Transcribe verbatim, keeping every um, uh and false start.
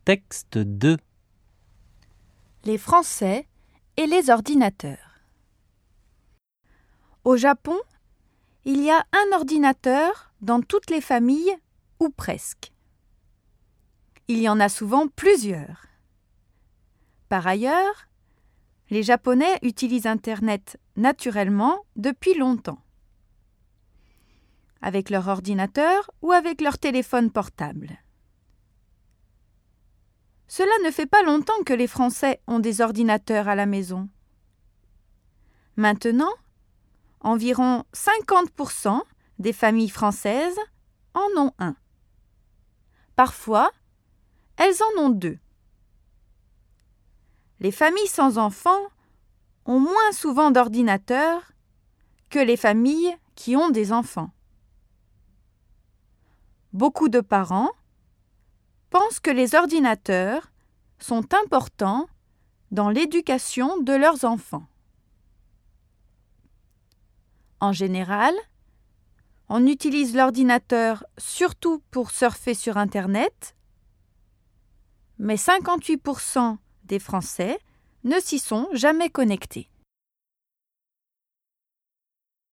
Texte deux. Les Français et les ordinateurs. Au Japon, il y a un ordinateur dans toutes les familles, ou presque. Il y en a souvent plusieurs. Par ailleurs, les Japonais utilisent Internet naturellement depuis longtemps, avec leur ordinateur ou avec leur téléphone portable. Cela ne fait pas longtemps que les Français ont des ordinateurs à la maison. Maintenant, environ cinquante pour cent des familles françaises en ont un. Parfois, elles en ont deux. Les familles sans enfants ont moins souvent d'ordinateurs que les familles qui ont des enfants. Beaucoup de parents pensent que les ordinateurs sont importants dans l'éducation de leurs enfants. En général, on utilise l'ordinateur surtout pour surfer sur Internet, mais cinquante-huit pour cent des Français ne s'y sont jamais connectés.